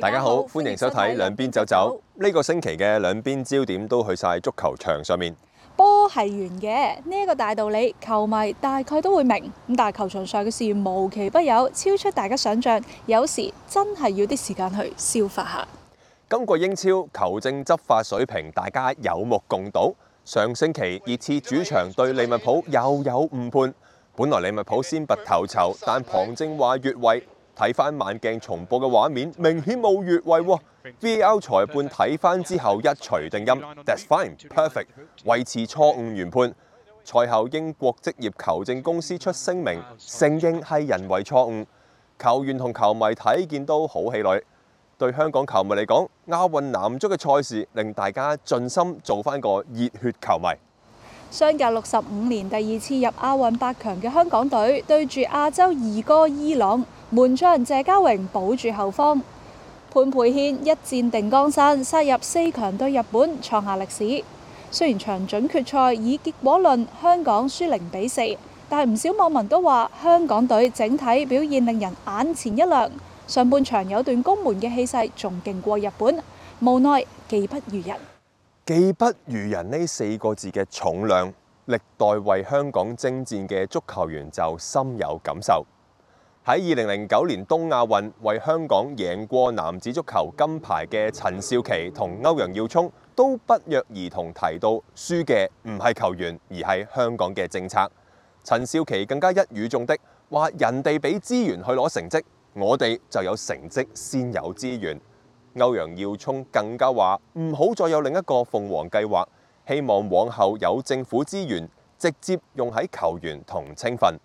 大家好，歡迎收睇兩邊走走。呢個星期嘅兩邊焦點都去晒足球場上面。 波係圓嘅，呢一個大道理，球迷大概都會明。咁但係球場上嘅事無奇不有，超出大家想象，有時真係要啲時間去消化下。 今季英超球證執法水平，大家有目共睹。上星期熱刺主場對利物浦又有誤判，本來利物浦先拔頭籌，但旁證話越位。睇翻慢鏡重播嘅畫面，明顯冇越位喎。VAR 裁判睇翻之後一錘定音 ，That's fine, perfect， 維持錯誤原判。賽後英國職業球證公司出聲明，承認係人為錯誤。球員同球迷睇見都好氣餒。對香港球迷嚟講，亞運男足嘅賽事令大家盡心做翻個熱血球迷。 相隔65年第二次入亞運8強嘅香港隊對住亞洲二哥伊朗，門將謝家榮保住後方，潘佩軒一戰定江山，殺入4強對日本，創下歷史。雖然場準決賽以結果論香港輸0-4，但係唔少網民都話香港隊整體表現令人眼前一亮。上半場有段攻門嘅氣勢仲勁過日本，無奈技不如人。 技不如人呢4個字嘅重量，歷代為香港征戰嘅足球員就深有感受。喺2009年東亞運為香港贏過男子足球金牌嘅陳少琪同歐陽耀聰都不約而同提到，輸嘅唔係球員，而係香港嘅政策。陳少琪更加一語中的話：人哋俾資源去攞成績，我哋就有成績先有資源。歐陽耀聰更加話唔好再有另一個鳳凰計劃，希望往後有政府資源直接用喺球員同青訓。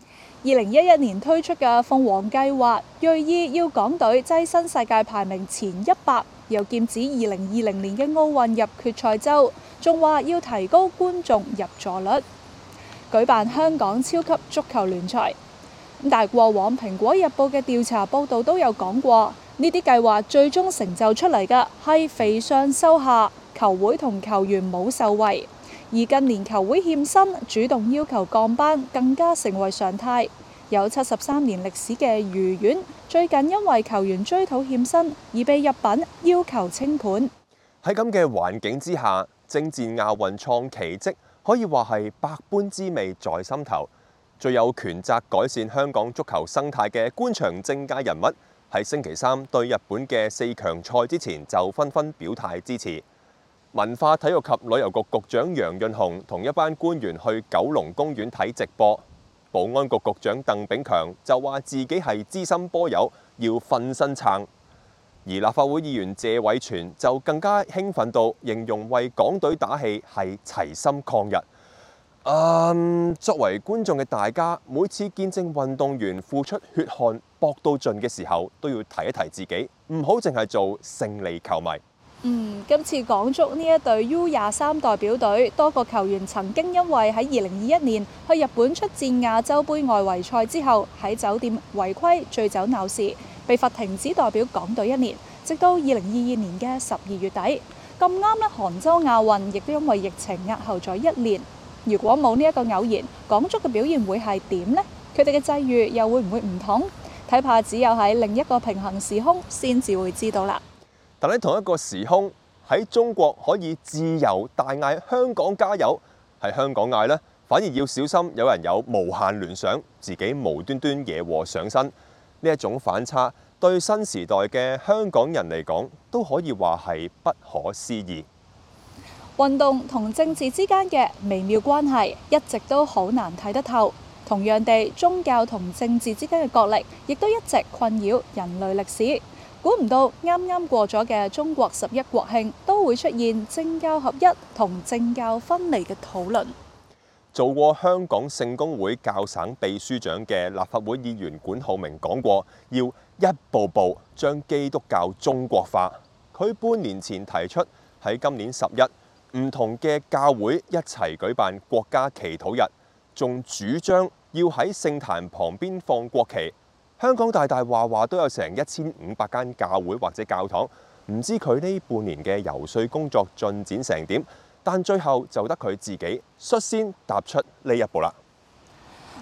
2011年推出嘅鳳凰計劃，銳意要港隊躋身世界排名前100，又劍指2020年嘅奧運入決賽周，仲話要提高觀眾入座率，舉辦香港超級足球聯賽。但係過往《蘋果日報》嘅調查報導都有講過，呢啲計劃最終成就出嚟嘅係肥上瘦下，球會同球員冇受惠。而近年球會欠薪，主動要求降班，更加成為常態。有73年歷史嘅愉園，最近因為球員追討欠薪而被入稟要求清盤。喺咁嘅環境之下，征戰亞運創奇蹟，可以話係百般滋味在心頭。最有權責改善香港足球生態嘅官場政界人物，喺星期3對日本嘅4強賽之前就紛紛表態支持。文化體育及旅遊局局長楊潤雄同一班官員去九龍公園睇直播，保安局局長鄧炳強就話自己係資深波友，要瞓身撐。而立法會議員謝偉銓就更加興奮到形容為港隊打氣係齊心抗日。作為觀眾嘅大家，每次見證運動員付出血汗搏到盡嘅時候，都要提一提自己，唔好淨係做勝利球迷。今次港足呢一隊 U23 代表隊，多個球員曾經因為喺2021年去日本出戰亞洲杯外圍賽之後，喺酒店違規醉酒鬧事，被罰停止代表港隊1年，直到2022年嘅12月底。咁啱呢，杭州亞運亦都因為疫情押後咗1年。如果冇呢一個偶然，港足嘅表現會係點呢？佢哋嘅際遇又會唔會唔同？睇怕只有喺另一個平行時空先至會知道啦。但喺同一個時空，喺中國可以自由大嗌香港加油，喺香港嗌呢，反而要小心有人有無限聯想，自己無端端惹禍上身。呢一種反差，對新時代嘅香港人嚟講，都可以話係不可思議。運動同政治之間嘅微妙關係一直都好難睇得透。同樣地，宗教同政治之間嘅角力，亦都一直困擾人類歷史。估唔到啱啱過咗嘅中國11國慶，都會出現政教合一同政教分離嘅討論。做過香港聖公會教省秘書長嘅立法會議員管浩鳴講過，要一步步將基督教中國化。佢半年前提出喺今年11唔同嘅教會一齊舉辦國家祈禱日，仲主張要喺聖壇旁邊放國旗。香港大大話話都有成1500間教會或者教堂，唔知佢呢半年嘅遊說工作進展成點？但最後就得佢自己率先踏出呢一步啦。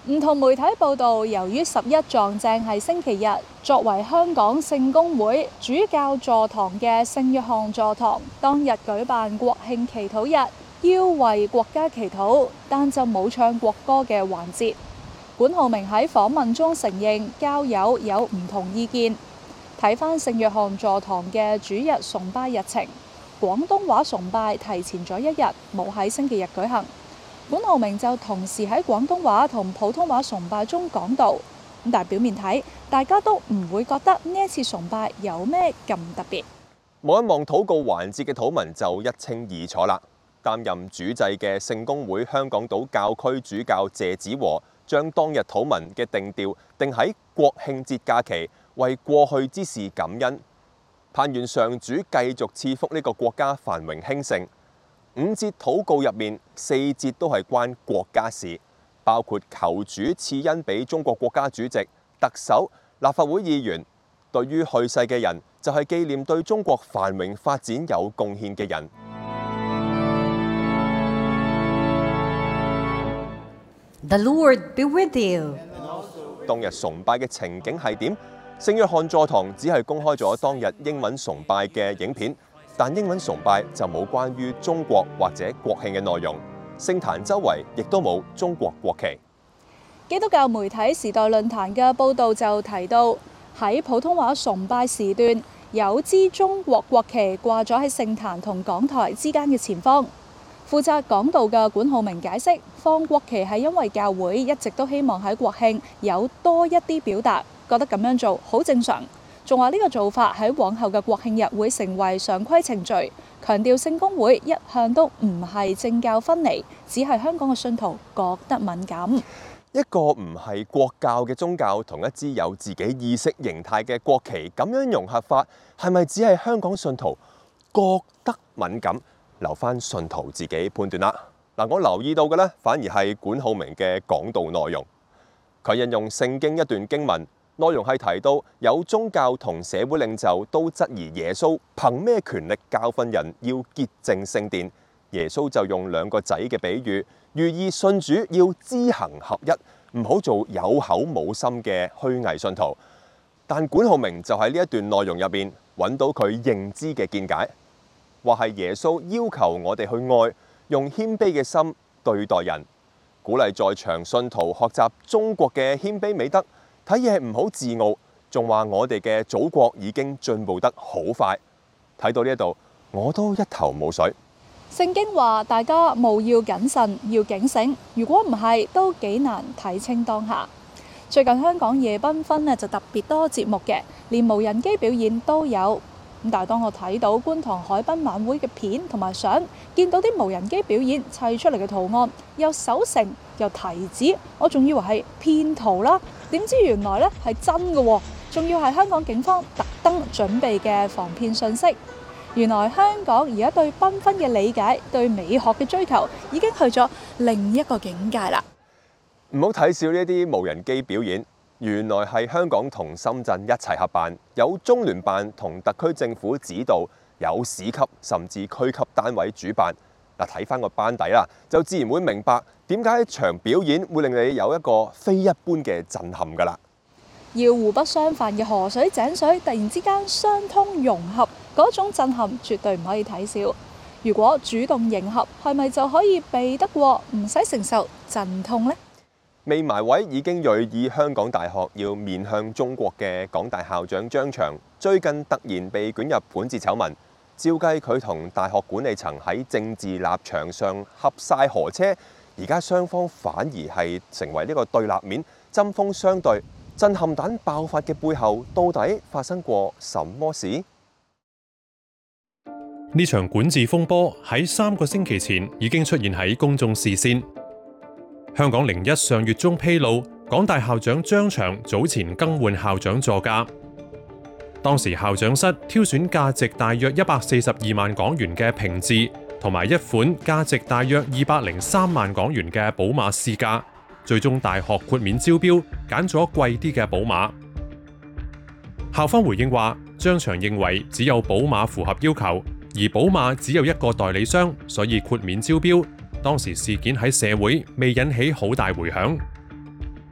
唔同媒體報道，由於11撞正係星期日，作為香港聖公會主教座堂嘅聖約翰座堂，當日舉辦國慶祈禱日，要為國家祈禱，但就冇唱國歌嘅環節。管浩鳴喺訪問中承認，教友有唔同意見。睇返聖約翰座堂嘅主日崇拜日程，廣東話崇拜提前咗一日，冇喺星期日舉行。管浩鳴就同時喺廣東話同普通話崇拜中講道，但係表面睇，大家都唔會覺得呢一次崇拜有咩咁特別。 望一望禱告環節嘅禱文就一清二楚啦。擔任主祭嘅聖公會香港島教區主教謝子和將當日禱文嘅定調定喺國慶節假期，為過去之事感恩，盼願上主繼續賜福呢個國家繁榮興盛。5節禱告入面4節都係關國家事，包括求主賜恩俾中國國家主席、特首、立法會議員。對於去世嘅人，就係紀念對中國繁榮發展有貢獻嘅人。 The Lord be with you。 當日崇拜嘅情景係點？聖約翰座堂只係公開咗當日英文崇拜嘅影片。但英文崇拜就冇關於中國或者國慶嘅內容，聖壇周圍亦都冇中國國旗。 基督教媒體時代論壇嘅報導就提到，喺普通話崇拜時段，有支中國國旗掛咗喺聖壇同講台之間嘅前方。負責講道嘅管浩鳴解釋，放國旗係因為教會一直都希望喺國慶有多一啲表達，覺得咁樣做好正常。仲話呢個做法喺往後嘅國慶日會成為常規程序，強調聖公會一向都唔係政教分離，只係香港嘅信徒覺得敏感。 一個唔係國教嘅宗教同一支有自己意識形態嘅國旗咁樣融合法，係咪只係香港信徒覺得敏感？留返信徒自己判斷啦。嗱，我留意到嘅呢，反而係管浩鳴嘅講道內容，佢引用聖經一段經文。內容係提到有宗教同社會領袖都質疑耶穌憑咩權力教訓人要潔淨聖殿，耶穌就用2個仔嘅比喻，寓意信主要知行合一，唔好做有口冇心嘅虛偽信徒。但管浩鳴就喺呢一段內容入邊揾到佢認知嘅見解，話係耶穌要求我哋去愛，用謙卑嘅心對待人，鼓勵在場信徒學習中國嘅謙卑美德。睇嘢唔好自傲，仲話我哋嘅祖國已經進步得好快。睇到呢一度，我都一頭霧水。 聖經話大家務要謹慎，要警醒。如果唔係，都幾難睇清當下。最近香港夜繽紛呢就特別多節目嘅，連無人機表演都有。咁但係當我睇到觀塘海濱晚會嘅片同埋相，見到啲無人機表演砌出嚟嘅圖案，又手繩又提子，我仲以為係騙徒啦。點知原來咧係真嘅喎，仲要係香港警方特登準備嘅防騙信息。原來香港而家對繽紛嘅理解、對美學嘅追求，已經去咗另一個境界啦。 唔好睇小呢啲無人機表演，原來係香港同深圳一齊合辦，有中聯辦同特區政府指導，有市級甚至區級單位主辦。嗱，睇翻個班底啦，就自然會明白點解一場表演會令你有一個非一般嘅震撼㗎啦。 要互不相犯嘅河水井水突然之間相通融合，嗰種震撼絕對唔可以睇小。如果主動迎合，係咪就可以避得過唔使承受陣痛呢？ 未埋位已經銳意香港大學要面向中國嘅港大校長張翔，最近突然被捲入管治醜聞。照計佢同大學管理層喺政治立場上合晒河車，而家雙方反而係成為呢個對立面，針鋒相對。震撼彈爆發嘅背後，到底發生過什麼事？ 呢場管治風波喺3個星期前已經出現喺公眾視線。香港01上月中披露，港大校長張翔早前更換校長座駕。當時校長室挑選價值大約142萬港元嘅平治，同埋一款價值大約203萬港元嘅寶馬試駕，最終大學豁免招標，揀咗貴啲嘅寶馬。校方回應話，張翔認為只有寶馬符合要求，而寶馬只有1個代理商，所以豁免招標。當時事件喺社會未引起好大迴響。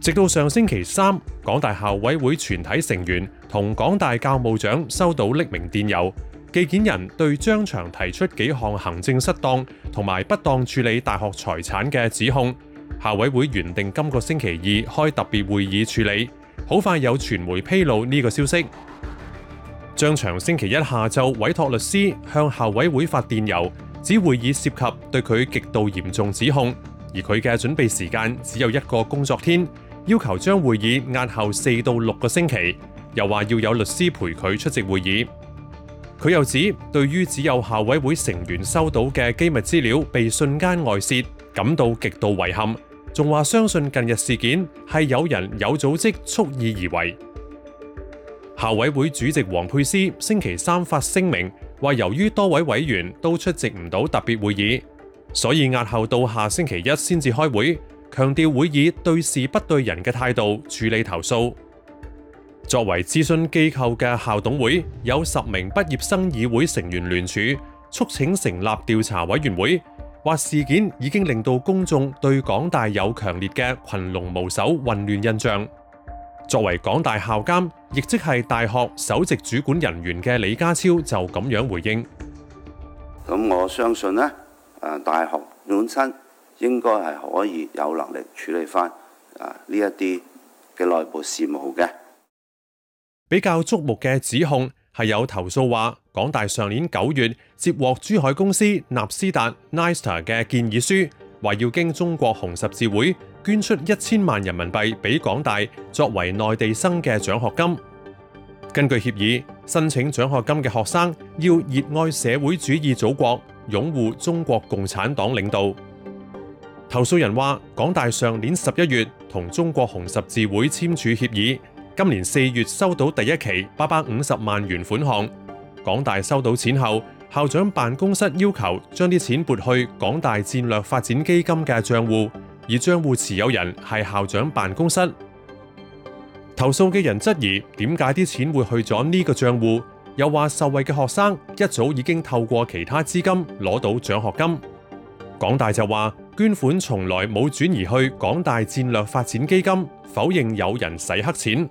直到上星期三，港大校委會全體成員同港大教務長收到匿名電郵，寄件人對張翔提出幾項行政失當同埋不當處理大學財產嘅指控。校委會原定今個星期二開特別會議處理，好快有傳媒披露呢個消息。張翔星期一下晝委託律師向校委會發電郵，指會議涉及對佢極度嚴重指控，而佢嘅準備時間只有1個工作天，要求將會議押後4到6個星期，又話要有律師陪佢出席會議。佢又指，對於只有校委會成員收到嘅機密資料被瞬間外泄，感到極度遺憾，仲話相信近日事件係有人有組織蓄意而為。校委會主席王沛詩星期三發聲明，話由於多位委員都出席唔到特別會議，所以押後到下星期一先至開會，強調會以對事不對人嘅態度處理投訴。作為諮詢機構嘅校董會，有10名畢業生議會成員聯署，促請成立調查委員會，話事件已經令到公眾對港大有強烈嘅群龍無首混亂印象。作為港大校監，亦即係大學首席主管人員嘅李家超就咁樣回應。 咁我相信呢，大學本身應該係可以有能力處理翻呢一啲嘅內部事務嘅。 比較矚目嘅指控係有投訴話，港大上年9月接獲珠海公司納斯達 NYSTA 嘅建議書，話要經中國紅十字會捐出1000萬人民幣俾港大作為內地生嘅獎學金。根據協議，申請獎學金嘅學生要熱愛社會主義祖國，擁護中國共產黨領導。投訴人話，港大上年11月同中國紅十字會簽署協議，今年4月收到第一期850萬元款項。港大收到錢後，校長辦公室要求將啲錢撥去港大戰略發展基金嘅賬戶，而賬戶持有人係校長辦公室。投訴嘅人質疑點解啲錢會去咗呢個賬戶，又話受惠嘅學生一早已經透過其他資金攞到獎學金。港大就話捐款從來冇轉移去港大戰略發展基金，否認有人洗黑錢。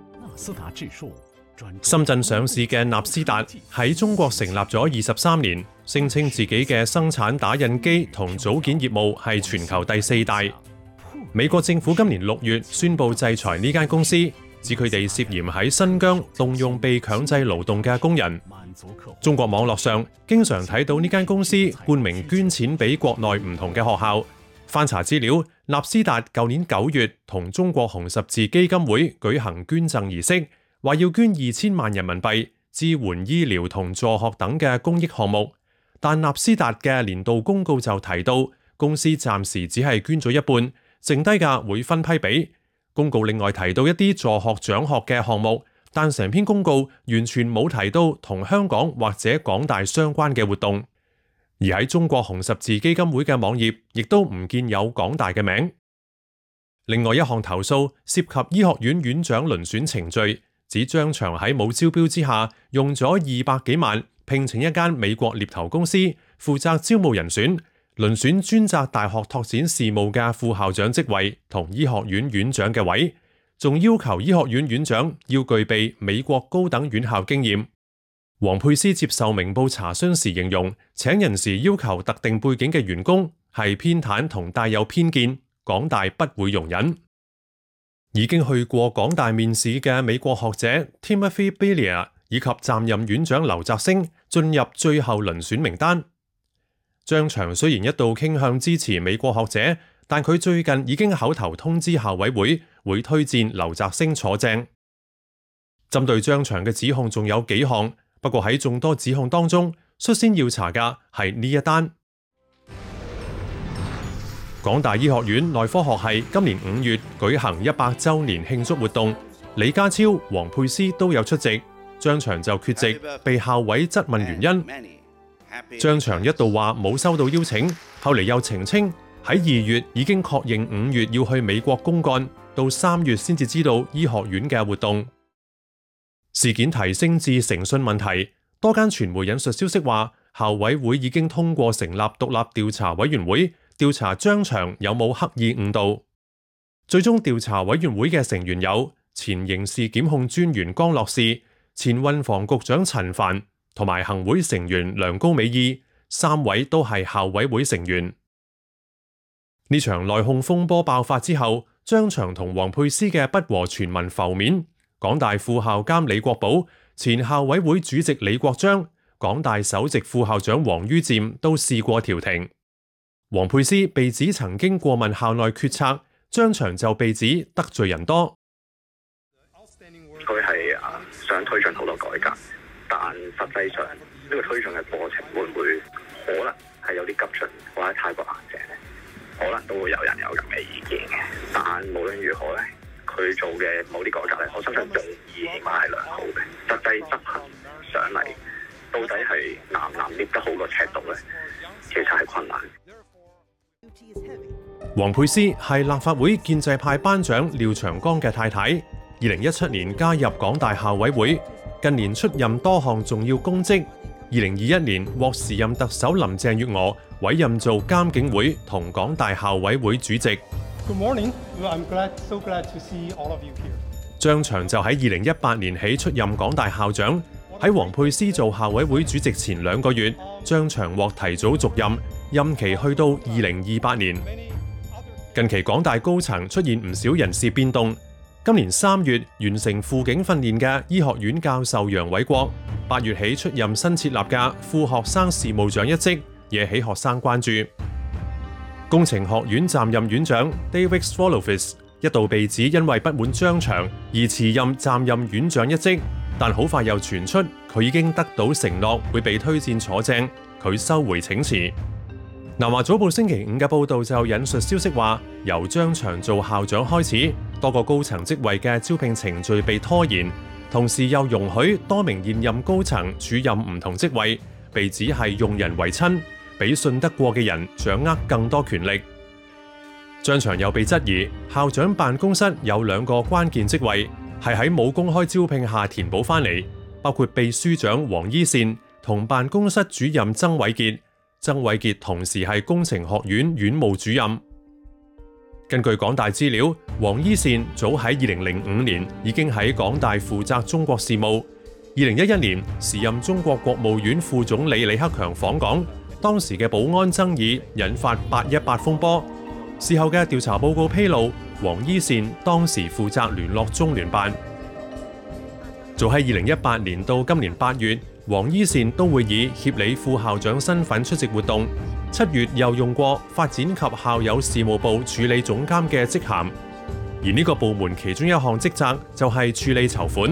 深圳上市嘅納斯達喺中國成立咗23年，聲稱自己嘅生產打印機同組件業務係全球第4大。美國政府今年6月宣布制裁呢間公司，指佢哋涉嫌喺新疆動用被強制勞動嘅工人。中國網絡上經常睇到呢間公司冠名捐錢俾國內唔同嘅學校。翻查資料，納斯達舊年9月同中國紅十字基金會舉行捐贈儀式，話要捐2000萬人民幣支援醫療同助學等嘅公益項目。但納斯達嘅年度公告就提到，公司暫時只係捐咗一半，剩低嘅會分批俾。公告另外提到一啲助學獎學嘅項目，但成篇公告完全冇提到同香港或者港大相關嘅活動。而喺中國紅十字基金會嘅網頁，亦都唔見有港大嘅名。另外一項投訴涉及醫學院院長遴選程序，指張翔喺冇招標之下，用咗200幾萬聘請一間美國獵頭公司，負責招募人選，遴選專責大學拓展事務嘅副校長職位同醫學院院長嘅位，仲要求醫學院院長要具備美國高等院校經驗。王沛詩接受明報查詢時形容，請人時要求特定背景嘅員工係偏袒同帶有偏見，港大不會容忍。已經去過港大面試嘅美國學者 Timothy Billyer 以及暫任院長劉澤星進入最後遴選名單。張翔雖然一度傾向支持美國學者，但佢最近已經口頭通知校委會推薦劉澤星坐正。針對張翔嘅指控仲有幾項，不過喺眾多指控當中，率先要查嘅係呢一單。港大醫學院內科學系今年5月舉行100週年慶祝活動，李家超、王沛詩都有出席，張翔就缺席，被校委質問原因。張翔一度話冇收到邀請，後嚟又澄清喺2月已經確認5月要去美國公幹，到3月先至知道醫學院嘅活動。事件提升至誠信問題，多間傳媒引述消息話，校委會已經通過成立獨立調查委員會，調查張翔有冇刻意誤導。 最終調查委員會嘅成員有前刑事檢控專員江樂士、前運房局長陳帆同埋行會成員梁高美懿，3位都係校委會成員。呢場內控風波爆發之後，張翔同王沛詩嘅不和傳聞浮面，港大副校監李國寶、前校委會主席李國章、港大首席副校長王于漸都試過調停。王沛詩被指曾經過問校內決策，張翔就被指得罪人多。 佢係想推進好多改革，但實際上呢個推進嘅過程會唔會可能係有啲急進或者太過硬淨呢？可能都會有人有咁嘅意見嘅。但無論如何咧，佢做嘅某啲改革咧，我相信用意起碼係良好嘅。實際執行上嚟，到底係拿唔拿捏得好個尺度咧，其實係困難。 王沛詩係立法會建制派班長廖長江嘅太太，2017年加入港大校委會，近年出任多項重要公職。2021年獲時任特首林鄭月娥委任做監警會同港大校委會主席。 Good morning. I'm so glad to see all of you here. 張翔就喺2018年起出任港大校長。喺王沛詩做校委會主席前2個月，張翔獲提早續任，任期去到2028年。近期港大高層出現唔少人事變動。今年3月完成輔警訓練嘅醫學院教授楊偉國，8月起出任新設立嘅副學生事務長一職，惹起學生關注。工程學院暫任院長 David Swallowfis 一度被指因為不滿張翔而辭任暫任院長一職，但好快又傳出佢已經得到承諾會被推薦坐正，佢收回請辭。南華早報星期5嘅報導就引述消息話，由張翔做校長開始，多個高層職位嘅招聘程序被拖延，同時又容許多名現任高層署任唔同職位，被指係用人唯親，俾信得過嘅人掌握更多權力。張翔又被質疑校長辦公室有2個關鍵職位係喺冇公開招聘下填補翻嚟，包括秘書長黃依善同辦公室主任曾偉傑。曾偉傑同時係工程學院院務主任。根據港大資料，黃依善早喺2005年已經喺港大負責中國事務。2011年，時任中國國務院副總理李克強訪港，當時嘅保安爭議引發818風波。事後嘅調查報告披露，黃依善當時負責聯絡中聯辦。早喺2018年到今年8月，黃依善都會以協理副校長身份出席活動。7月又用過發展及校友事務部處理總監嘅職銜，而呢個部門其中一項職責就係處理籌款。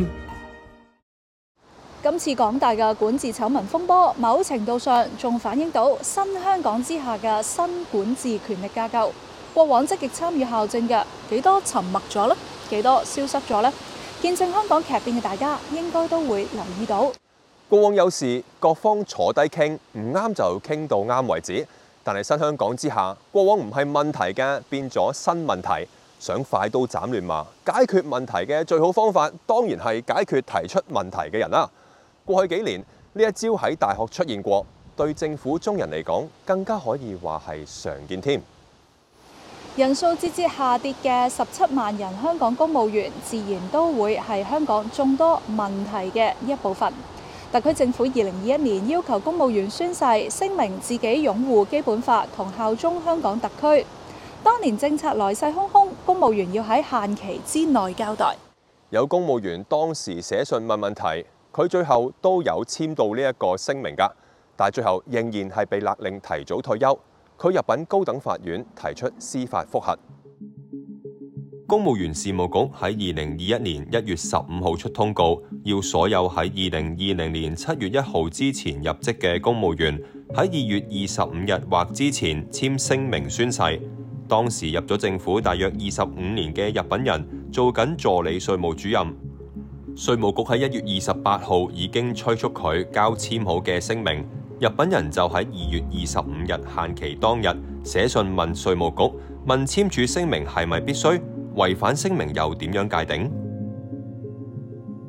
今次港大嘅管治醜聞風波，某程度上仲反映到新香港之下嘅新管治權力架構。過往積極參與校政嘅幾多沉默咗呢？幾多消失咗呢？見證香港劇變嘅大家應該都會留意到。 過往有時各方坐低傾，唔啱就傾到啱為止。但係新香港之下，過往唔係問題嘅變咗新問題，想快刀斬亂麻解決問題嘅最好方法，當然係解決提出問題嘅人啦。過去幾年呢一招喺大學出現過，對政府中人嚟講更加可以話係常見添。 人數節節下跌嘅17萬人香港公務員，自然都會係香港眾多問題嘅一部分。特區政府2021年要求公務員宣誓，聲明自己擁護基本法同效忠香港特區。當年政策來勢洶洶，公務員要喺限期之內交代。 有公務員當時寫信問問題，佢最後都有簽到呢一個聲明㗎，但係最後仍然係被勒令提早退休。佢入稟高等法院提出司法覆核。公務員事務局喺2021年1月15號出通告，要所有喺2020年7月1號之前入職嘅公務員喺2月25日或之前簽聲明宣誓。當時入咗政府大約25年嘅入稟人做緊助理稅務主任，稅務局喺1月28號已經催促佢交簽好嘅聲明。入稟人就喺2月25日限期當日寫信問稅務局，問簽署聲明係咪必須，違反聲明又點樣界定？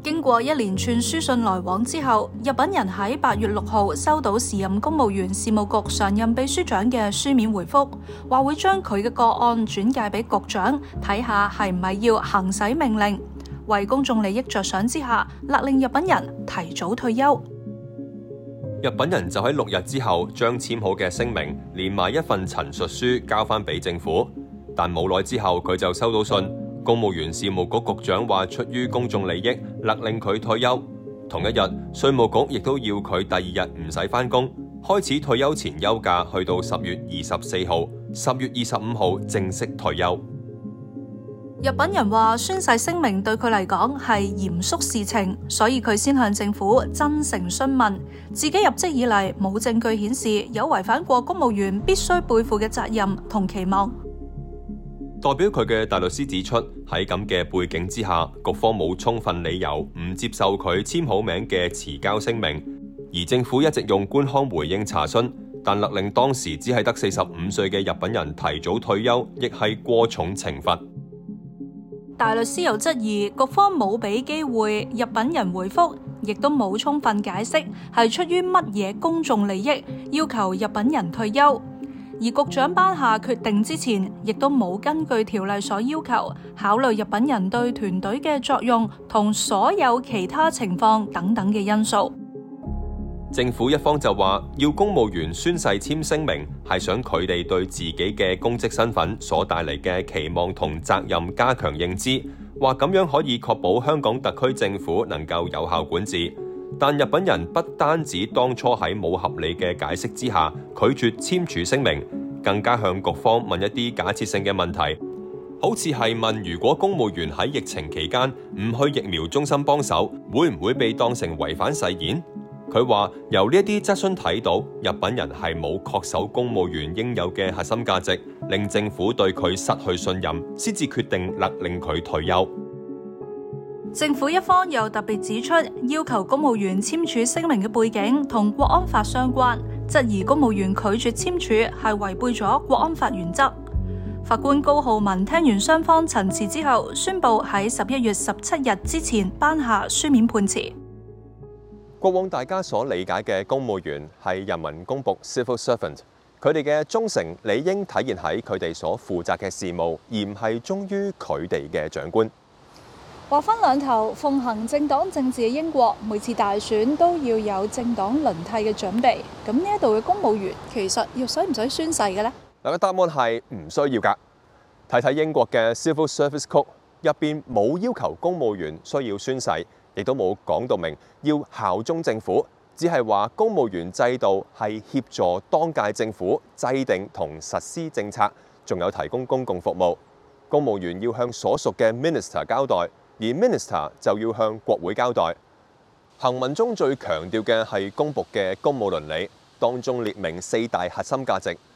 經過一連串書信來往之後，日本人喺8月6號收到時任公務員事務局常任秘書長嘅書面回覆，話會將佢嘅個案轉介俾局長睇下係唔係要行使命令，為公眾利益着想之下，勒令日本人提早退休。 日本人就喺6日之後將簽好嘅聲明連埋一份陳述書交翻俾政府，但冇耐之後佢就收到信。公務員事務局局長話出於公眾利益，勒令佢退休。同一日，稅務局亦都要佢第2日唔使返工，開始退休前休假，去到10月24號、10月25號正式退休。 日本人話宣誓聲明對佢嚟講係嚴肅事情，所以佢先向政府真誠詢問，自己入職以嚟冇證據顯示有違反過公務員必須背負嘅責任同期望。 代表佢嘅大律師指出，喺咁嘅背景之下，局方冇充分理由唔接受佢簽好名嘅遲交聲明，而政府一直用官腔回應查詢，但勒令當時只係得45歲嘅日本人提早退休，亦係過重懲罰。 大律師又質疑局方冇俾機會日本人回覆，亦都冇充分解釋係出於乜嘢公眾利益要求日本人退休。而局長頒下決定之前，亦都冇根據條例所要求考慮日本人對團隊嘅作用同所有其他情況等等嘅因素。 政府一方就話要公務員宣誓簽聲明，係想佢哋對自己嘅公職身份所帶嚟嘅期望同責任加強認知，話咁樣可以確保香港特區政府能夠有效管治。但日本人不單止當初喺冇合理嘅解釋之下拒絕簽署聲明，更加向局方問一啲假設性嘅問題，好似係問如果公務員喺疫情期間唔去疫苗中心幫手，會唔會被當成違反誓言？佢話由呢一啲質詢睇到，日本人係冇恪守公務員應有嘅核心價值，令政府對佢失去信任，先至決定勒令佢退休。 政府一方又特別指出，要求公務員簽署聲明嘅背景同國安法相關，質疑公務員拒絕簽署係違背咗國安法原則。法官高浩文聽完雙方陳詞之後，宣布喺11月17日之前頒下書面判詞。 過往大家所理解嘅公務員係人民公僕 civil servant， 佢哋嘅忠誠理應體現喺佢哋所負責嘅事務，而唔係忠於佢哋嘅長官。 話分兩頭，奉行政黨政治嘅英國，每次大選都要有政黨輪替嘅準備。咁呢一度嘅公務員其實要使唔使宣誓嘅呢？ 嗱，個答案係唔需要㗎。睇睇英國嘅 Civil Service Code 入邊冇要求公務員需要宣誓，亦都冇講到明要效忠政府，只係話公務員制度係協助當屆政府制定同實施政策，仲有提供公共服務。公務員要向所屬嘅 Minister 交代，而 Minister 就要向國會交代。行文中最強調嘅係公僕嘅公務倫理，當中列明4大核心價值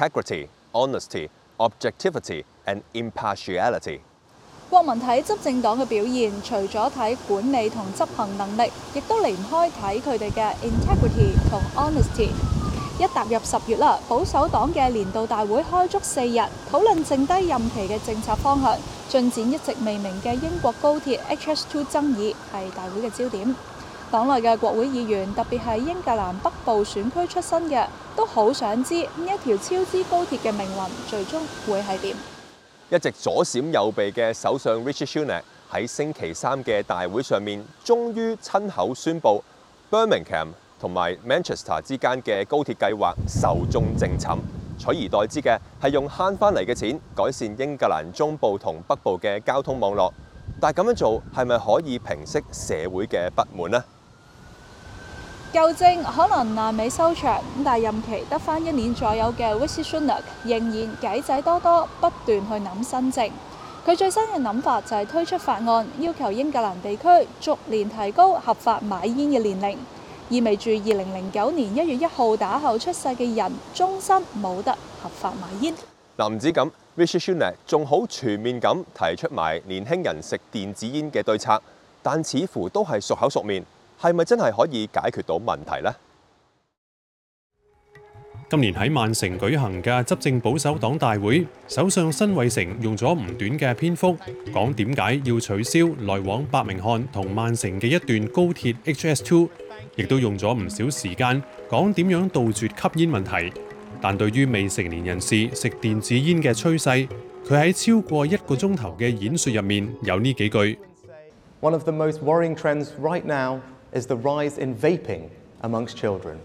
：integrity、honesty、objectivity and impartiality。 國民睇執政黨嘅表現，除咗睇管理同執行能力，亦都離唔開睇佢哋嘅 integrity 同 honesty。一踏入10月啦，保守黨嘅年度大會開足4日，討論剩低任期嘅政策方向，進展一直未明嘅英國高鐵 HS2 爭議係大會嘅焦點。黨內嘅國會議員，特別係英格蘭北部選區出身嘅，都好想知呢一條超支高鐵嘅命運最終會係點。 一直左閃右避嘅首相 Rishi Sunak 喺星期3嘅大會上面，終於親口宣布 Birmingham 同埋 Manchester 之間嘅高鐵計劃壽終正寢，取而代之嘅係用慳翻嚟嘅錢改善英格蘭中部同北部嘅交通網絡。但係咁樣做係咪可以平息社會嘅不滿呢？ 舊政可能爛尾收場，但係任期得翻1年左右嘅 Rishi Sunak 仍然計仔多多，不斷去諗新政。佢最新嘅諗法就係推出法案，要求英格蘭地區逐年提高合法買煙嘅年齡，意味住2009年1月1號打後出世嘅人，終身冇得合法買煙。 嗱，唔止咁 ，Rishi Sunak 仲好全面咁提出埋年輕人食電子煙嘅對策，但似乎都係熟口熟面，係咪真係可以解決到問題呢？ 今年喺曼城舉行嘅執政保守黨大會，首相辛偉誠用咗唔短嘅篇幅講點解要取消來往伯明翰同曼城嘅一段高鐵 HS2， 亦都用咗唔少時間講點樣杜絕吸煙問題。但對於未成年人士食電子煙嘅趨勢，佢喺超過1個鐘頭嘅演說入面有呢幾句。 One of the most worrying trends right now is the rise in vaping amongst children.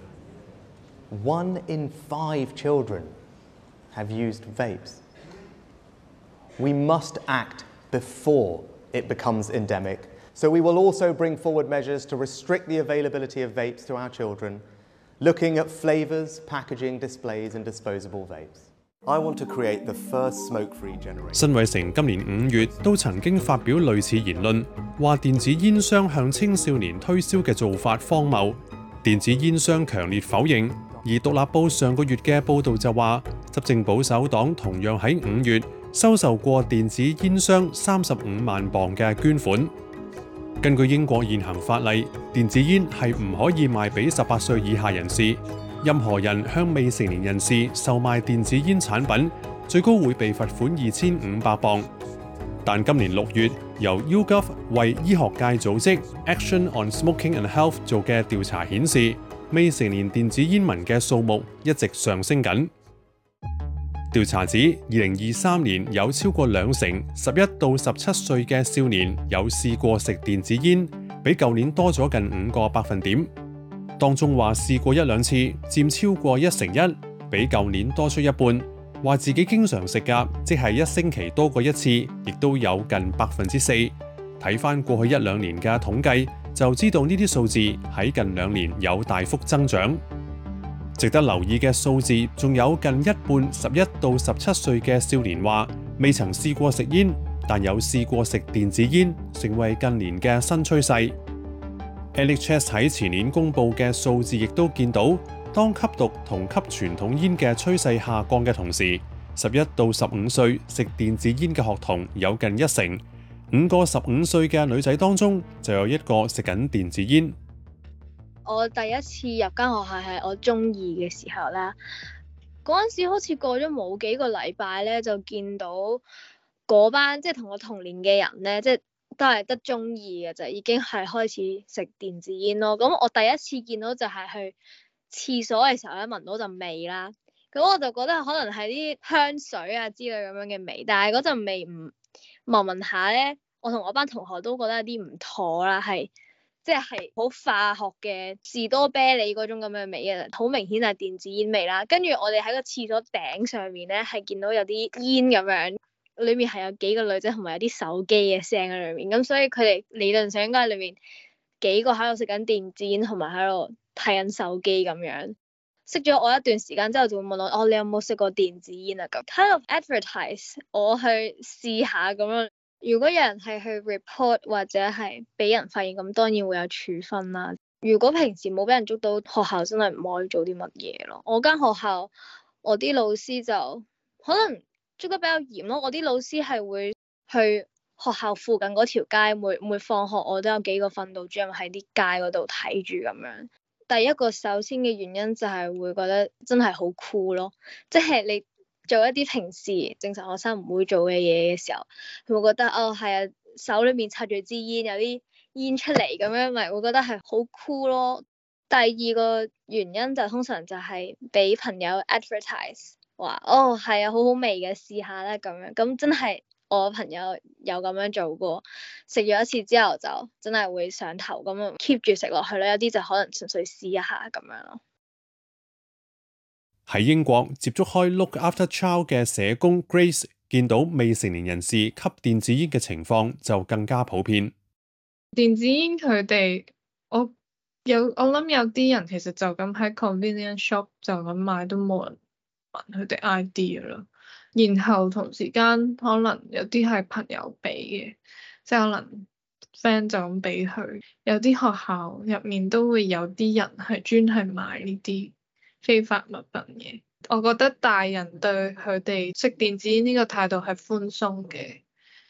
1 in 5 children have used vapes. We must act before it becomes endemic. So we will also bring forward measures to restrict the availability of vapes to our children, looking at flavors, packaging, displays and disposable vapes. I want to create the first smoke-free generation. 辛偉誠今年5月都曾經發表類似言論，話電子煙商向青少年推銷嘅做法荒謬。電子煙商強烈否認，而獨立報上個月嘅報導就話，執政保守黨同樣喺5月收受過電子煙商35萬磅嘅捐款。根據英國現行法例，電子煙係唔可以賣俾18歲以下人士。任何人向未成年人士售賣電子煙產品，最高會被罰款2500磅。但今年6月，由 YouGov 為醫學界組織 Action on Smoking and Health 做嘅調查顯示，未成年電子煙民嘅數目一直上升緊。調查指，2023年有超過20%， 11到17歲嘅少年有試過食電子煙，比舊年多咗近5個百分點。當中話試過1-2次，佔超過1%，比舊年多出一半。話自己經常食㗎，即係1星期多過1次，亦都有近4%。睇返過去1-2年嘅統計，就知道呢啲數字喺近2年有大幅增長。值得留意嘅數字，仲有近一半11到17歲嘅少年話未曾試過食煙，但有試過食電子煙，成為近年嘅新趨勢。NHS 喺前年公布嘅數字亦都見到，當吸毒同吸傳統煙嘅趨勢下降嘅同時，11到15歲食電子煙嘅學童有近1成，5個15歲嘅女仔當中就有1個食緊電子煙。 我第一次入間學校係我中2嘅時候啦，嗰陣時好似過咗冇幾個禮拜咧，就見到嗰班即係同我同年嘅人咧，即係都係得中2嘅就已經係開始食電子煙咯。咁我第一次見到就係去廁所嘅時候咧，聞到陣味啦。咁我就覺得可能係啲香水啊之類咁樣嘅味，但係嗰陣味唔聞下咧，我同我班同學都覺得有啲唔妥啦，係即係好化學嘅士多啤梨嗰種咁嘅味啊，好明顯係電子煙味啦。跟住我哋喺個廁所頂上面咧，係見到有啲煙咁樣，裏面係有幾個女仔同埋有啲手機嘅聲喺裏面，咁所以佢哋理論上應該係裏面幾個喺度食緊電子煙同埋喺度睇緊手機咁樣。識咗我一段時間之後，就會問我，你有冇食過電子煙啊？咁 kind of advertise 我去試下咁樣。如果有人係去 report 或者係俾人發現，咁當然會有處分啦。如果平時冇俾人捉到，學校真係唔可以做啲乜嘢咯。我間學校我啲老師就可能捉得比較嚴咯。我啲老師係會去學校附近嗰條街，每放學我都有幾個訓導主任喺啲街嗰度睇住咁樣。第一個首先嘅原因就係會覺得真係好酷咯，即係你做一啲平時正常學生唔會做嘅嘢嘅時候，佢會覺得哦係啊，手裏面插住支煙，有啲煙出嚟咁樣，咪會覺得係好酷咯。第二個原因就通常就係俾朋友 advertise 話哦係啊，好好味嘅，試下啦咁樣。咁真係我朋友有咁樣做過，食咗一次之後就真係會上頭咁樣 keep 住食落去咯。有啲就可能純粹試一下咁樣咯。 喺英國接觸開 Look After Child 嘅社工 Grace 見到未成年人士吸電子煙嘅情況就更加普遍。 電子煙佢哋，我諗有啲人其實就咁喺 convenience shop 就咁買都冇人問佢哋 ID 㗎啦。然後同時間可能有啲係朋友俾嘅，即係可能 friend 就咁俾佢。有啲學校入面都會有啲人係專係買呢啲非法物品嘅。我覺得大人對佢哋食電子煙呢個態度係寬鬆嘅。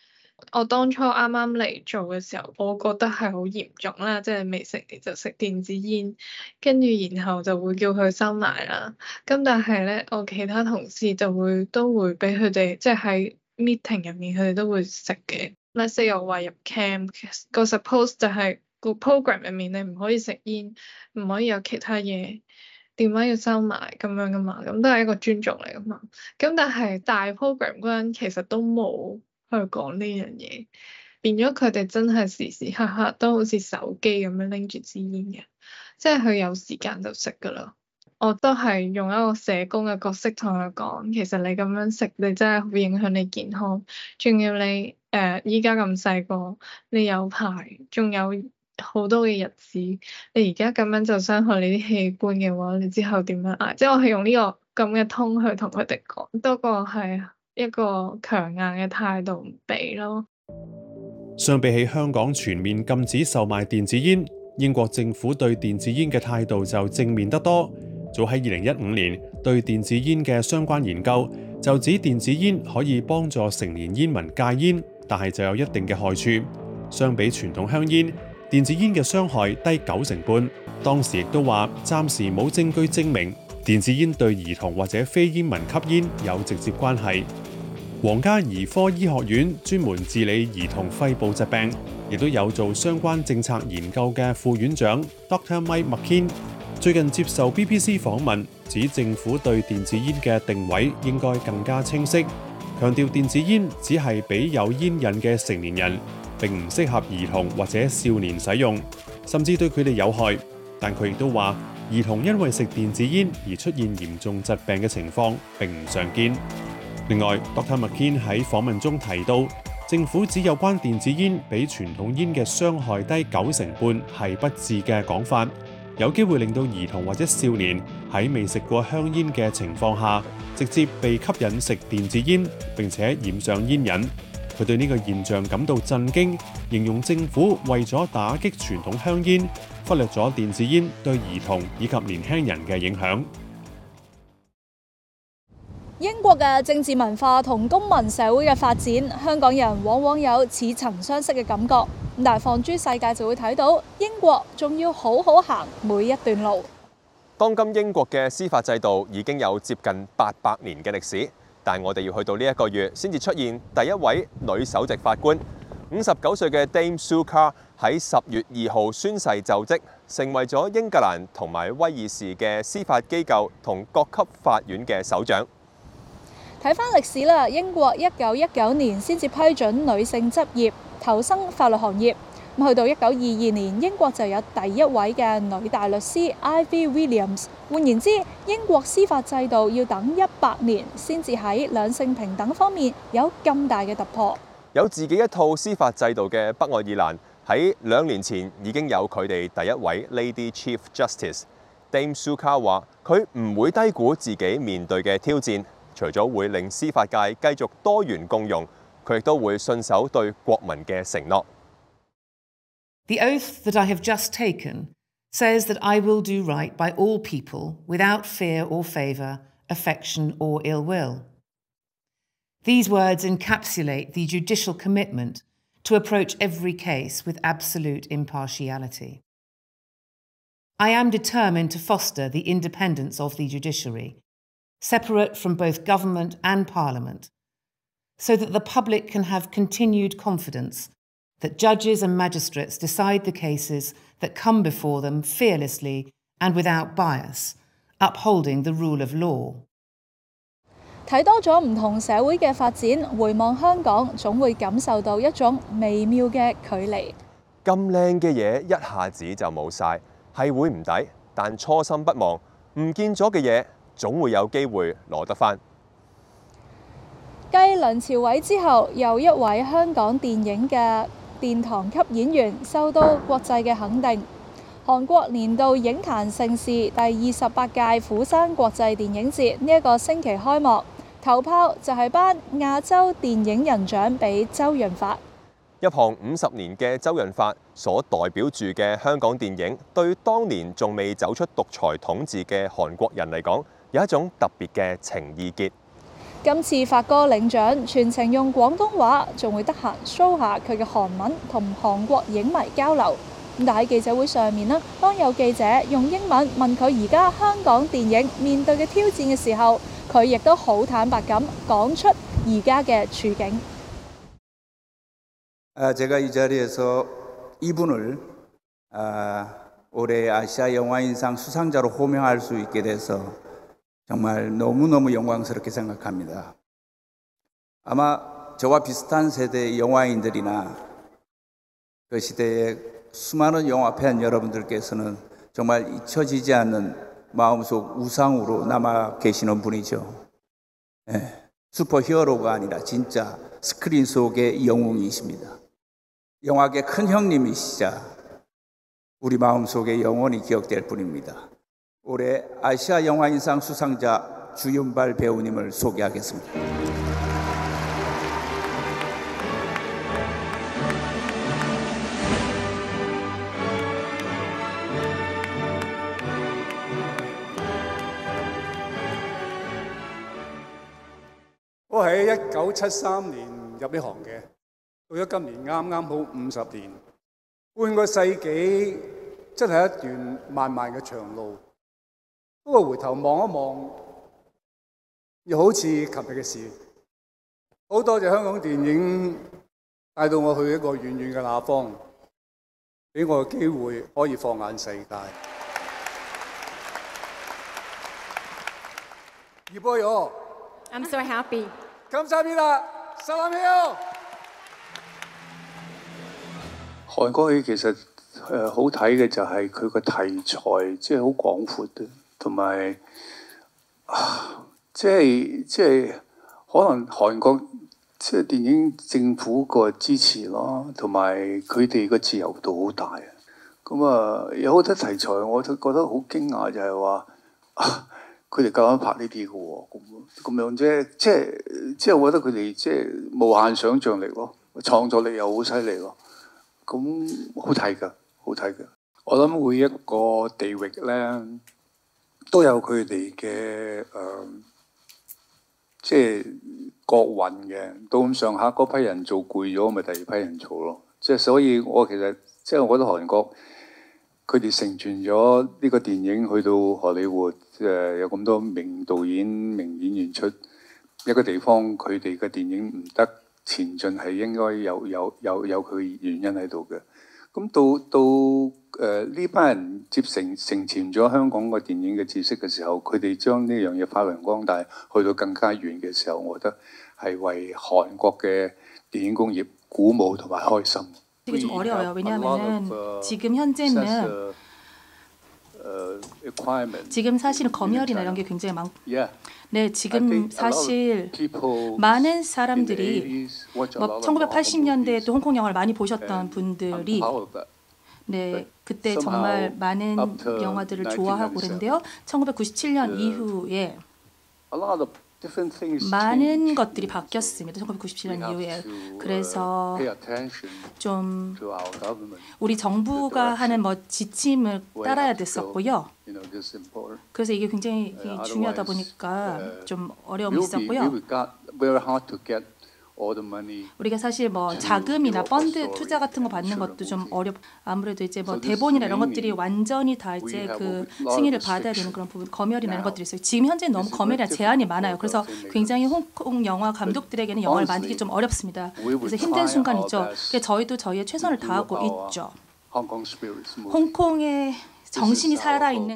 我當初啱啱嚟做嘅時候，我覺得係好嚴重啦，即係未成年就食電子煙，跟住然後就會叫佢收埋啦。咁但係咧，我其他同事都會俾佢哋，即係喺 meeting 入面佢哋都會食嘅。Let's say 我話入 camp 個 suppose 就係個 program 入面你唔可以食煙，唔可以有其他嘢，電話要收埋咁樣噶嘛，咁都係一個尊重嚟噶嘛。咁但係大 program 嗰陣其實都冇去講呢樣嘢，變咗佢哋真係時時刻刻都好似手機咁樣拎住支煙嘅，即係佢有時間就食噶啦。我都係用一個社工嘅角色同佢講，其實你咁樣食，你真係會影響你健康，仲要你依家咁細個，你有排，仲有好多嘅日子，你而家咁樣就傷害你啲器官嘅話，你之後點樣捱？即係我係用呢個咁嘅通去同佢哋講，多過係一個強硬嘅態度唔俾咯。 相比起香港全面禁止售賣電子煙，英國政府對電子煙嘅態度就正面得多。早喺2015年，對電子煙嘅相關研究就指電子煙可以幫助成年煙民戒煙，但係就有一定嘅害處。相比傳統香煙，電子煙嘅傷害低90%。當時亦都話，暫時冇證據證明電子煙對兒童或者非煙民吸煙有直接關係。皇家兒科醫學院專門治理兒童肺部疾病，亦都有做相關政策研究嘅副院長 Dr. Mike McKean 最近接受 BBC 訪問，指政府對電子煙嘅定位應該更加清晰，強調電子煙只係俾有煙癮嘅成年人，並唔適合兒童或者少年使用，甚至對佢哋有害。但佢亦都話，兒童因為食電子煙而出現嚴重疾病嘅情況並唔常見。另外 ，Dr. McKean 喺訪問中提到，政府指有關電子煙比傳統煙嘅傷害低90%係不智嘅講法，有機會令到兒童或者少年喺未食過香煙嘅情況下，直接被吸引食電子煙，並且染上煙癮。佢對呢個現象感到震驚，形容政府為咗打擊傳統香煙，忽略咗電子煙對兒童以及年輕人嘅影響。 英國嘅政治文化同公民社會嘅發展，香港人往往有似曾相識嘅感覺。但係放諸世界就會睇到，英國仲要好好行每一段路。 當今英國嘅司法制度已經有接近800年嘅歷史，但係我哋要去到呢一個月先至出現第一位女首席法官。59歲嘅 Dame Sue Carr 喺10月2號宣誓就職，成為咗英格蘭同埋威爾士嘅司法機構同各級法院嘅首長。 睇返歷史啦，英國1919年先至批准女性執業投身法律行業。咁去到1922年，英國就有第一位嘅女大律師 Ivy Williams。換言之，英國司法制度要等100年先至喺兩性平等方面有咁大嘅突破。 有自己一套司法制度嘅北愛爾蘭喺2年前已經有佢哋第一位 Lady Chief Justice。Dame Sue Carr 話：佢唔會低估自己面對嘅挑戰。除咗會令司法界繼續多元共融，佢亦都會信守對國民嘅承諾。 The oath that I have just taken says that I will do right by all people without fear or favour, affection or ill will. These words encapsulate the judicial commitment to approach every case with absolute impartiality. I am determined to foster the independence of the judiciary, separate from both government and parliament, so that the public can have continued confidence that judges and magistrates decide the cases that come before them fearlessly and without bias, upholding the rule of law. 睇多咗唔同社會嘅發展，回望香港，總會感受到一種微妙嘅距離。 咁靚嘅嘢一下子就冇晒，係會唔抵，但初心不忘，唔見咗嘅嘢，總會有機會攞得返。 繼梁朝偉之後，又一位香港電影嘅殿堂級演員受到國際嘅肯定。韓國年度影壇盛事第28屆釜山國際電影節呢一個星期開幕，頭炮就係頒亞洲電影人獎俾周潤發。 一項50年嘅周潤發所代表住嘅香港電影，對當年仲未走出獨裁統治嘅韓國人嚟講，有一種特別嘅情意結。 今次發哥領獎全程用廣東話，仲會得閒 show 下佢嘅韓文同韓國影迷交流。但喺記者會上面呢，當有記者用英文問佢而家香港電影面對嘅挑戰嘅時候，佢亦都好坦白咁講出而家嘅處境。 제가 이 자리에서 이분을 올해 아시아 영화인상 수상자로 호명할 수 있게 돼서 정말 너무너무 영광스럽게 생각합니다. 아마 저와 비슷한 세대의 영화인들이나 그 시대의 수많은 영화 팬 여러분들께서는 정말 잊혀지지 않는 마음속 우상으로 남아 계시는 분이죠. 네, 슈퍼히어로가 아니라 진짜 스크린 속의 영웅이십니다. 영화계 큰 형님이시자 우리 마음속에 영원히 기억될 분입니다. 올해 아시아 영화인상 수상자 주윤발 배우님을 소개하겠습니다. 我喺1973年入呢行嘅，到咗今年啱啱好50年，半個世紀真係一段漫漫嘅長路。不過回頭望一望，又好似琴日嘅事。好多謝香港電影帶到我去一個遠遠嘅那方，俾我嘅機會可以放眼世界。이뻐요. I'm so happy. 감사합니다. 사랑해요. 韓國戲其實好睇嘅就係佢個題材，即係好廣闊嘅，同埋即係可能韓國即係電影政府個支持咯，同埋佢哋個自由度好大。咁有好多題材我都覺得好驚訝，就係話佢哋夠膽拍呢啲嘅喎，咁樣啫，即係我覺得佢哋即係無限想像力咯，創作力又好犀利咯，咁好睇㗎，好睇㗎。我諗每一個地域咧都有佢哋嘅即係國運嘅，到咁上下嗰批人做攰咗，咪第二批人做咯。即係所以我其實即係我覺得韓國佢哋成全咗呢個電影去到荷里活，有咁多名導演、名演員出一個地方，佢哋嘅電影唔得前進係應該有佢原因喺度嘅。咁到呢班人承傳咗香港個電影嘅知識嘅時候，佢哋將呢樣嘢發揚光大，去到更加遠嘅時候，我覺得係為韓國嘅電影工業鼓舞同埋開心。 되게 좀 어려워요. 왜냐하면 지금 현재는 지금 사실은 검열이나 이런 게 굉장히 많고 네, 지금 사실 많은 사람들이 뭐 1980년대에 또 홍콩 영화를 많이 보셨던 분들이 네, 그때 정말 많은 영화들을 좋아하고 그랬는데요. 1997년 이후에 많은 것들이 바뀌었습니다. 1997년 이후에. 그래서 좀 우리 정부가 하는 뭐 지침을 따라야 됐었고요. 그래서 이게 굉장히 중요하다 보니까 좀 어려움이 있었고요. 우리가 사실 뭐 자금이나 펀드 투자 같은 거 받는 것도 좀 아무래도 이제 뭐 대본이나 이런 것들이 완전히 다 이제 그 승인을 받아야 되는 그런 부분, 검열이나 이런 것들이 있어요. 지금 현재 너무 검열이나 제한이 많아요. 그래서 굉장히 홍콩 영화 감독들에게는 영화를 만들기 좀 어렵습니다. 그래서 힘든 순간이죠. 저희도 저희의 최선을 다하고 있죠. 홍콩의 정신이 살아있는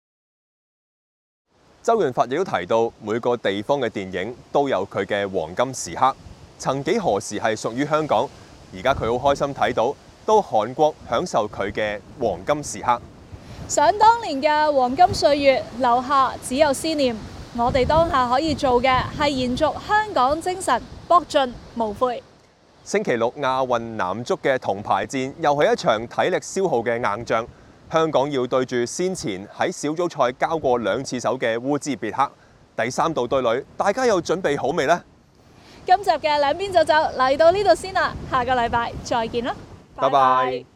周潤發亦都提到，每個地方嘅電影都有佢嘅黃金時刻。曾幾何時係屬於香港，而家佢好開心睇到，到韓國享受佢嘅黃金時刻。 想當年嘅黃金歲月，留下只有思念。我哋當下可以做嘅係延續香港精神，搏盡無悔。 星期六亞運男足嘅銅牌戰，又係一場體力消耗嘅硬仗。香港要對住先前喺小組賽交過2次手嘅烏茲別克，第3度對壘，大家有準備好未呢？ 今集嘅兩邊走走嚟到呢度先啦，下個禮拜再見啦，拜拜。